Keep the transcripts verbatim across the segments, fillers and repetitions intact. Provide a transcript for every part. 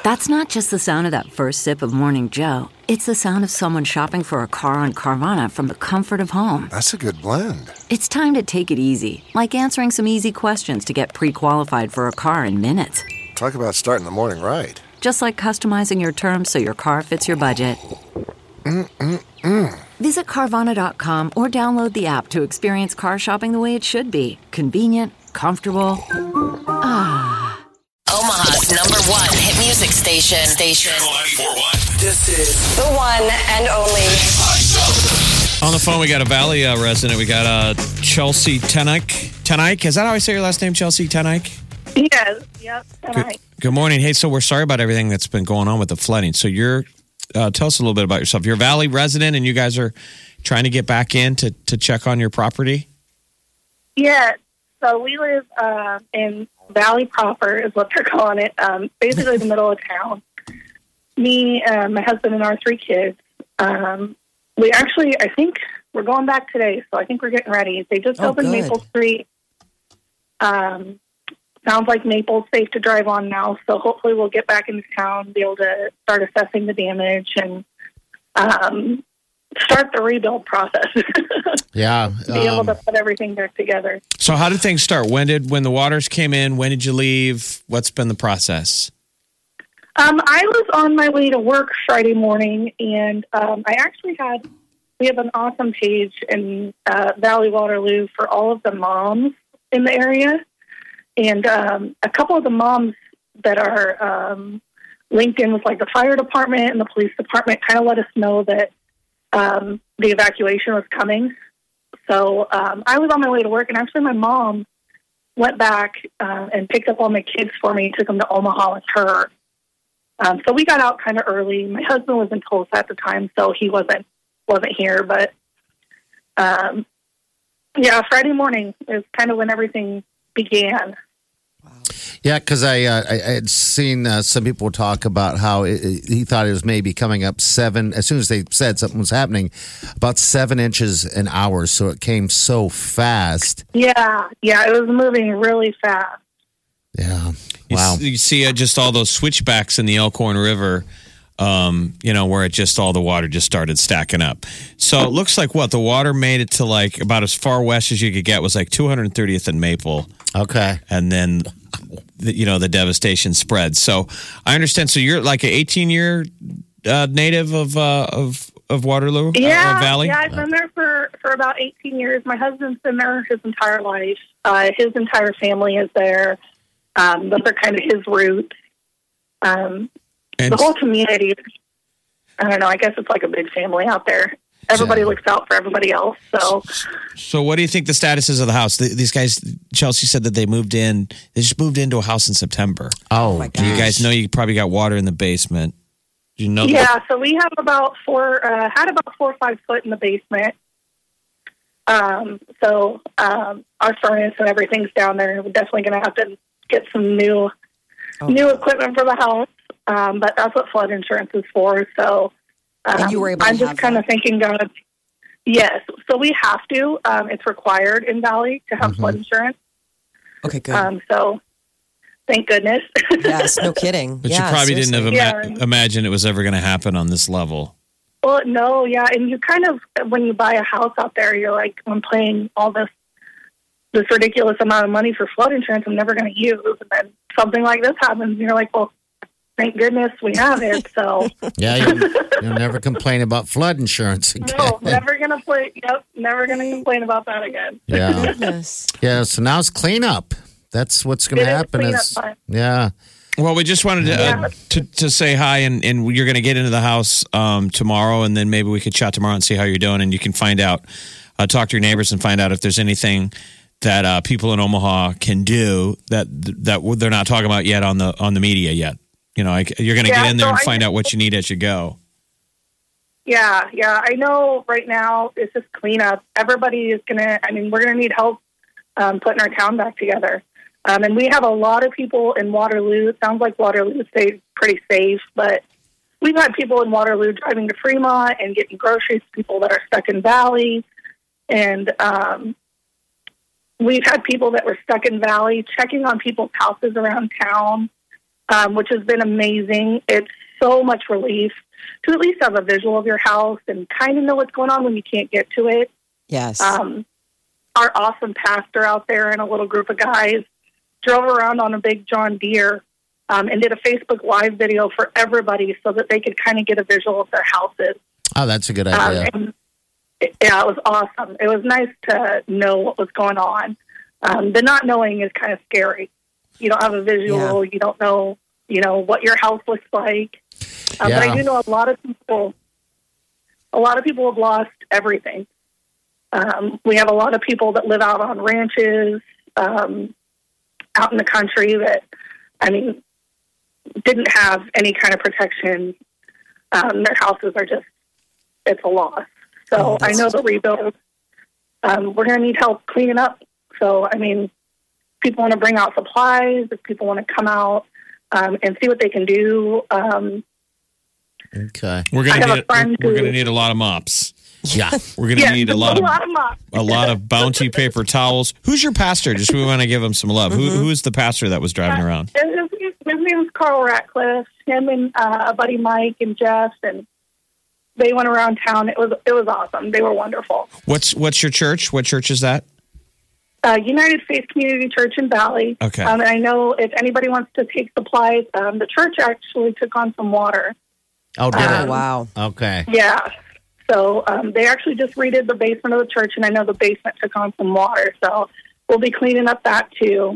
That's not just the sound of that first sip of Morning Joe. It's the sound of someone shopping for a car on Carvana from the comfort of home. That's a good blend. It's time to take it easy, like answering some easy questions to get pre-qualified for a car in minutes. Talk about starting the morning right. Just like customizing your terms so your car fits your budget. Mm-mm-mm. Visit Carvana dot com or download the app to experience car shopping the way it should be. Convenient, comfortable. Ah. Omaha's number one hit music station. Station. ninety-four point one. This is The one and only. On the phone, we got a Valley uh, resident. We got uh, Chelsea Tenike. Tenike? Is that how I say your last name, Chelsea Tenike? Yes. Yep. Good, good morning. Hey, so we're sorry about everything that's been going on with the flooding. So you're, uh, tell us a little bit about yourself. You're a Valley resident, and you guys are trying to get back in to, to check on your property? Yeah. So we live uh, in Valley proper, is what they're calling it. Um, basically, the middle of town. Me, uh, my husband, and our three kids. Um, we actually, I think, we're going back today. So I think we're getting ready. They just Oh, opened good. Maple Street. Um, sounds like Maple's safe to drive on now. So hopefully, we'll get back into town, be able to start assessing the damage, and um, start the rebuild process. Yeah. Be able um, to put everything back together. So how did things start? When did when the waters came in? When did you leave? What's been the process? Um, I was on my way to work Friday morning, and um, I actually had, we have an awesome page in uh, Valley Waterloo for all of the moms in the area. And um, a couple of the moms that are um, linked in with like the fire department and the police department kind of let us know that um, the evacuation was coming. So um, I was on my way to work, and actually my mom went back uh, and picked up all my kids for me, took them to Omaha with her. Um, so we got out kind of early. My husband was in Tulsa at the time, so he wasn't wasn't here. But um, yeah, Friday morning is kind of when everything began. Yeah, because I, uh, I I had seen uh, some people talk about how it, it- he thought it was maybe coming up seven, as soon as they said something was happening, about seven inches an hour. So it came so fast. Yeah, yeah, it was moving really fast. Yeah. You, Wow. s- you see uh, just all those switchbacks in the Elkhorn River, um, you know, where it just all the water just started stacking up. So it looks like what? The water made it to like about as far west as you could get was like two hundred thirtieth and Maple. Okay. And then, the, you know, the devastation spread. So I understand. So you're like an eighteen-year uh, native of, uh, of of Waterloo? Yeah, uh, Valley? yeah, I've been there for, for about eighteen years. My husband's been there his entire life. Uh, his entire family is there. Um, those are kind of his roots. Um, And the whole community, I don't know, I guess it's like a big family out there. Everybody Yeah. looks out for everybody else. So, So what do you think the status is of the house? Th- These guys, Chelsea said that they moved in. They just moved into a house in September. Oh, my Do you guys know you probably got water in the basement? Do you know? yeah, so we have about four, uh, had about four or five foot in the basement. Um, so um, our furnace and everything's down there. We're definitely going to have to get some new Oh. new equipment for the house. Um, but that's what flood insurance is for. So um, And you were able to I'm just have kind of that? thinking, God, yes. So we have to. Um, it's required in Valley to have flood insurance. Okay, good. Um, so thank goodness. Yes, no kidding. But yeah, you probably seriously. didn't have ima- Yeah. imagine it was ever going to happen on this level. Well, no, yeah, and you kind of, when you buy a house out there, you're like, I'm paying all this this ridiculous amount of money for flood insurance I'm never going to use, and then something like this happens, and you're like, well, thank goodness we have it. So Yeah, you'll, you'll never complain about flood insurance again. no, never going to play. Yep, never going to complain about that again. Yeah. Goodness. Yeah, so now it's cleanup. That's what's going It to is happen. cleanup Is, time. yeah. Well, we just wanted to Yeah. uh, to, to say hi, and, and you're going to get into the house um, tomorrow, and then maybe we could chat tomorrow and see how you're doing, and you can find out, uh, talk to your neighbors and find out if there's anything that uh, people in Omaha can do that that they're not talking about yet on the on the media yet. You know, I, you're going to Yeah, get in there so and I- find out what you need as you go. Yeah, yeah. I know right now it's just cleanup. Everybody is going to, I mean, we're going to need help um, putting our town back together. Um, and we have a lot of people in Waterloo. It sounds like Waterloo stayed pretty safe, but we've had people in Waterloo driving to Fremont and getting groceries, people that are stuck in Valley. And um, we've had people that were stuck in Valley checking on people's houses around town. um, which has been amazing. It's so much relief to at least have a visual of your house and kind of know what's going on when you can't get to it. Yes. Um, our awesome pastor out there and a little group of guys drove around on a big John Deere um, and did a Facebook Live video for everybody so that they could kind of get a visual of their houses. Oh, that's a good idea. Um, and it, yeah, it was awesome. It was nice to know what was going on. Um, the not knowing is kind of scary. You don't have a visual. Yeah. You don't know, you know, what your house looks like. Um, Yeah. But I do know a lot of people, a lot of people have lost everything. Um, we have a lot of people that live out on ranches, um, out in the country that, I mean, didn't have any kind of protection. Um, their houses are just, it's a loss. So Oh, I that's- know the rebuild, um, we're going to need help cleaning up. So, I mean, people want to bring out supplies, if people want to come out um, and see what they can do. Um, Okay. We're I gonna have a need friend we're who- gonna need a lot of mops. Yeah. We're gonna yeah, need a lot a of lot of mops. a lot of bounty paper towels. Who's your pastor? Just we want to give him some love. Who who is the pastor that was driving around? His, his name is Carl Ratcliffe. Him and uh, a buddy Mike and Jeff, and they went around town. It was it was awesome. They were wonderful. What's what's your church? What church is that? Uh, United Faith Community Church in Valley. Okay. Um, and I know if anybody wants to take supplies, um, the church actually took on some water. Oh, did Oh, it? wow. Okay. Yeah. So um, they actually just redid the basement of the church, and I know the basement took on some water. So we'll be cleaning up that too.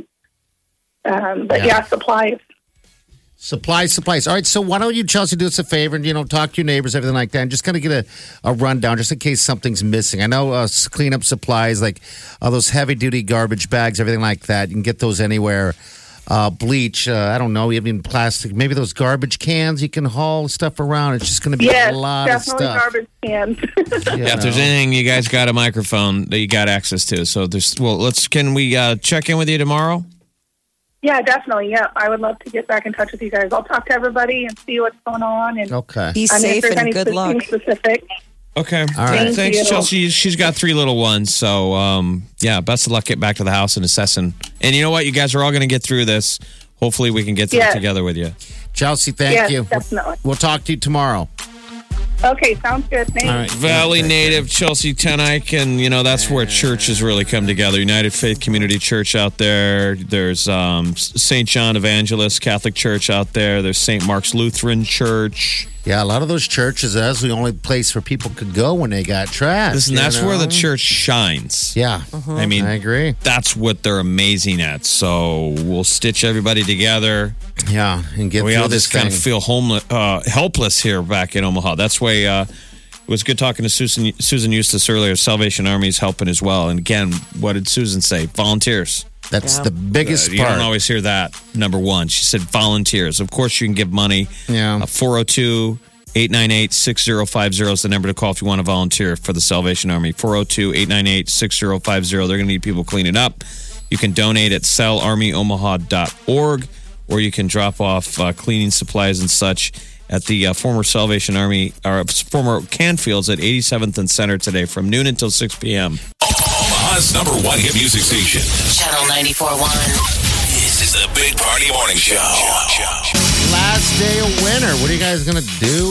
Um, but Yeah. yeah, supplies. Supplies, supplies. All right, so why don't you, Chelsea, do us a favor and, you know, talk to your neighbors, everything like that, and just kind of get a, a rundown just in case something's missing. I know uh, s- cleanup supplies, like all those heavy-duty garbage bags, everything like that, you can get those anywhere. Uh, bleach, uh, I don't know, even plastic, maybe those garbage cans, you can haul stuff around. It's just going to be Yes, a lot of definitely stuff. garbage cans. you Yeah, if there's know. anything, you guys got a microphone that you got access to. So there's well, let's can we uh, check in with you tomorrow? Yeah, definitely. Yeah, I would love to get back in touch with you guys. I'll talk to everybody and see what's going on. And Okay. Be I mean, if safe there's and any good luck. anything specific. Okay. All right. Thank Thanks, you. Chelsea. She's got three little ones. So, um, yeah, best of luck getting back to the house and assessing. And you know what? You guys are all going to get through this. Hopefully, we can get through Yes. it together with you. Chelsea, thank Yes, you. definitely. We'll talk to you tomorrow. Okay, sounds good. Thanks. All right. Valley native Chelsea Tenike, and you know that's where churches really come together. United Faith Community Church out there. There's um, Saint John Evangelist Catholic Church out there. There's Saint Mark's Lutheran Church. Yeah, a lot of those churches, that's the only place where people could go when they got trash. Listen, you that's know? where the church shines. Yeah. I mean, I agree. that's what they're amazing at. So we'll stitch everybody together. Yeah, and get We through all this just kind of thing. feel homeless, uh, helpless here back in Omaha. That's why uh, it was good talking to Susan Susan Eustace earlier. Salvation Army is helping as well. And again, what did Susan say? Volunteers. That's Yeah. the biggest Uh, you part. don't always hear that. Number one, she said volunteers. Of course, you can give money. Yeah. four oh two, eight nine eight, six oh five oh is the number to call if you want to volunteer for the Salvation Army. four oh two, eight nine eight, six oh five oh. They're going to need people cleaning up. You can donate at sal army omaha dot org, or you can drop off uh, cleaning supplies and such at the uh, former Salvation Army, or former Canfields at eighty-seventh and Center today from noon until six p.m. Omaha's number one hit music station. Channel ninety-four point one. This is the Big Party Morning Show. Last day of winter. What are you guys going to do?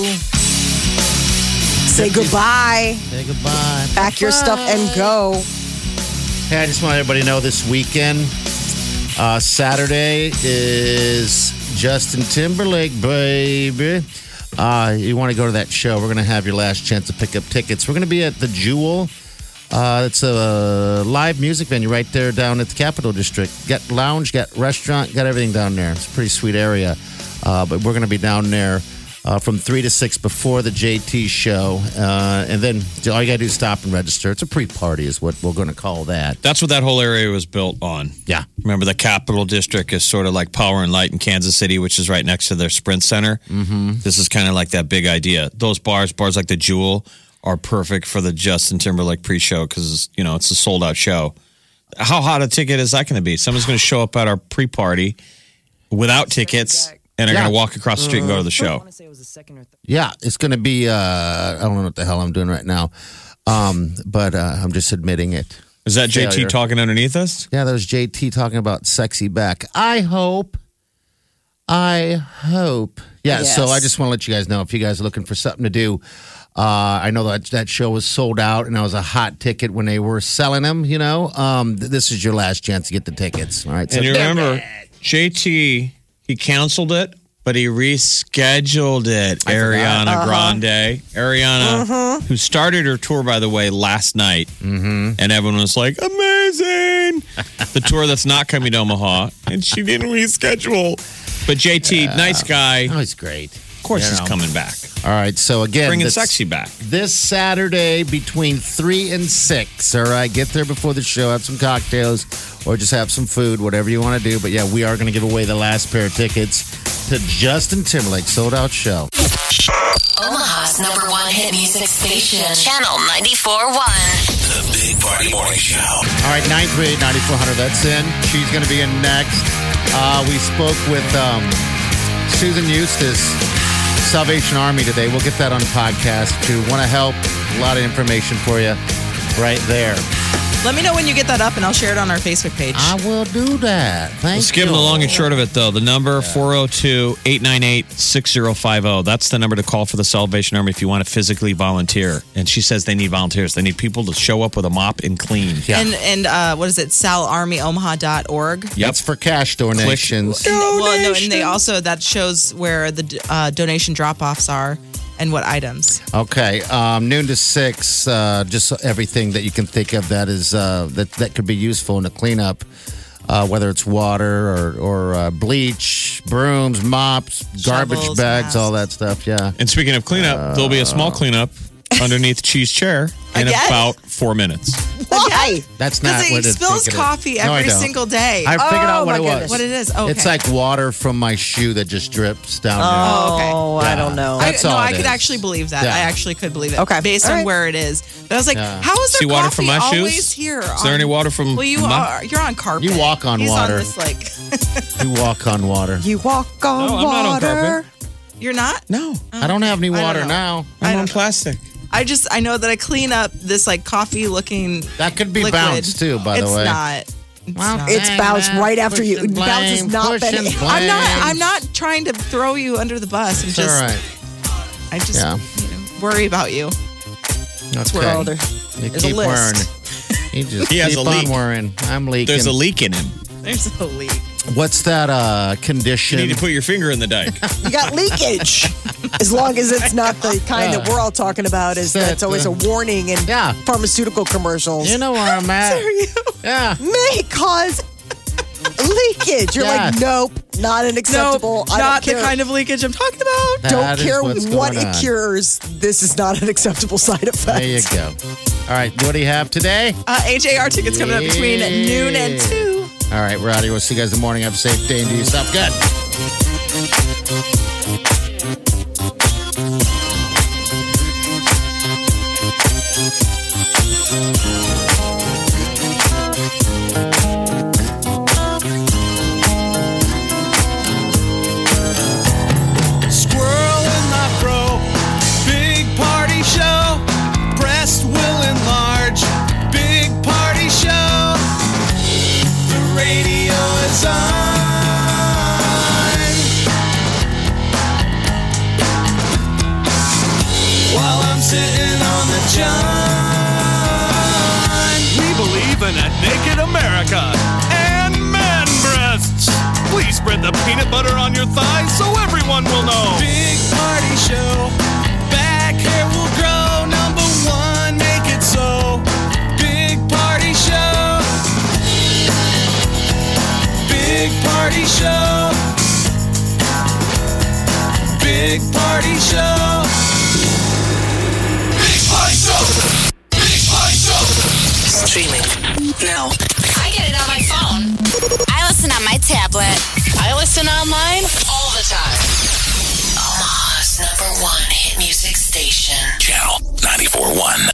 Say goodbye. Say goodbye. Pack your stuff and go. Hey, I just want everybody to know this weekend, uh, Saturday is Justin Timberlake, baby. Uh, you want to go to that show? We're going to have your last chance to pick up tickets. We're going to be at the Jewel. Uh, it's a live music venue right there down at the Capitol District. Got lounge, got restaurant, got everything down there. It's a pretty sweet area. Uh, but we're going to be down there uh, from three to six before the J T show. Uh, and then all you got to do is stop and register. It's a pre-party is what we're going to call that. That's what that whole area was built on. Yeah. Remember, the Capital District is sort of like Power and Light in Kansas City, which is right next to their Sprint Center. Mm-hmm. This is kind of like that big idea. Those bars, bars like the Jewel, are perfect for the Justin Timberlake pre-show because, you know, it's a sold-out show. How hot a ticket is that going to be? Someone's going to show up at our pre-party without tickets and are Yeah. going to walk across the street and go to the show. Yeah, it's going to be, uh, I don't know what the hell I'm doing right now, um, but uh, I'm just admitting it. Is that J T Failure. talking underneath us? Yeah, that was J T talking about sexy back. I hope. Uh, I hope. Yeah, Yes. so I just want to let you guys know if you guys are looking for something to do. Uh, I know that that show was sold out, and that was a hot ticket when they were selling them. You know, um, th- this is your last chance to get the tickets. All right, so And you remember, J T, he canceled it, but he rescheduled it. Ariana Uh-huh. Grande. Ariana, who started her tour, by the way, last night. Mm-hmm. And everyone was like, amazing. The tour that's not coming to Omaha. And she didn't reschedule. But J T, nice guy. oh, he's great. Of course You he's know. coming back. All right, so again, Bringing this- sexy back. this Saturday between three and six. All right, get there before the show, have some cocktails, or just have some food, whatever you want to do. But yeah, we are going to give away the last pair of tickets to Justin Timberlake's sold out show. Omaha's number one hit music station. Channel ninety-four point one. The Big Party Morning Show. All right, nine three eight, nine four hundred. That's in. She's going to be in next. Uh, we spoke with um, Susan Eustace, Salvation Army today. We'll get that on the podcast if you want to help. A lot of information for you right there. Let me know when you get that up, and I'll share it on our Facebook page. I will do that. Thank Let's you. give them the long and short of it, though. The number, four oh two, eight nine eight, six oh five oh. That's the number to call for the Salvation Army if you want to physically volunteer. And she says they need volunteers. They need people to show up with a mop and clean. Yeah. And and uh, what is it? sal army omaha dot org. That's for cash donations. And, well, no, and they also that shows where the uh, donation drop-offs are and what items. Okay, um, noon to six. Uh, just everything that you can think of that is uh, that that could be useful in the cleanup, uh, whether it's water or or uh, bleach, brooms, mops, garbage Shovels, bags, masks. all that stuff. Yeah. And speaking of cleanup, there'll be a small cleanup underneath Cheese Chair in Again? about four minutes. Why? That's not Because what he it's spills thinking it is. coffee No, I every don't. single day. I figured oh, out what my it was. goodness. What it is? Okay. It's like water from my shoe that just drips down Oh, okay. Oh, I don't know. I, That's no, all I it could is. actually believe that. Yeah. I actually could believe it. Okay. Based All on right. where it is. But I was like, Yeah. how is there See water coffee from my shoes? always here? Is there any water from Well, you my- are. You're on carpet. You walk on He's water. on this, like, there. You walk on water. You walk on No, I'm not on water. carpet. you're not? No, I don't have any I don't water know. now. I I'm don't on know. plastic. I just, I know that I clean up this, like, coffee looking That could be liquid. bounce too, by the it's way. Not. It's Well, not. It's Dang, bounced man. right after you. Push and Bounce has blame, not push been. and I'm not. blame. I'm not trying to throw you under the bus. I'm It's just. all right. I just Yeah. you know, worry about you. That's where all there- You there's a keep list. worrying. You just He has keep a on leak. worrying. I'm leaking. There's a leak in him. There's a leak. What's that uh, You condition? need to put your finger in the dike. You got leakage. As long as it's not the kind that we're all talking about, is That's that's always a warning in Yeah. pharmaceutical commercials. You know where I'm at. Yeah. May cause leakage. You're Yeah. like, nope, not an acceptable. No, I not don't the care. kind of leakage I'm talking about. That Don't is care what's what going it on. cures. This is not an acceptable side effect. There you go. All right. What do you have today? Uh, H A R tickets coming up between Yeah. noon and two. All right. We're out of here. We'll see you guys in the morning. Have a safe day and do yourself good. Squirrel in my fro. Big party show. Breast will enlarge. Big party show. The radio is on. While I'm sitting on the john. We believe in a naked America and man breasts. Please spread the peanut butter on your thighs so everyone will know. Big party show. Back hair will grow. Number one, make it so. Big party show. Big party show. Big party show. Big Party Show. Big Party Show. Streaming now. I get it on my phone. I listen on my tablet. I listen online all the time. Omaha's number one hit music station. Channel ninety-four point one.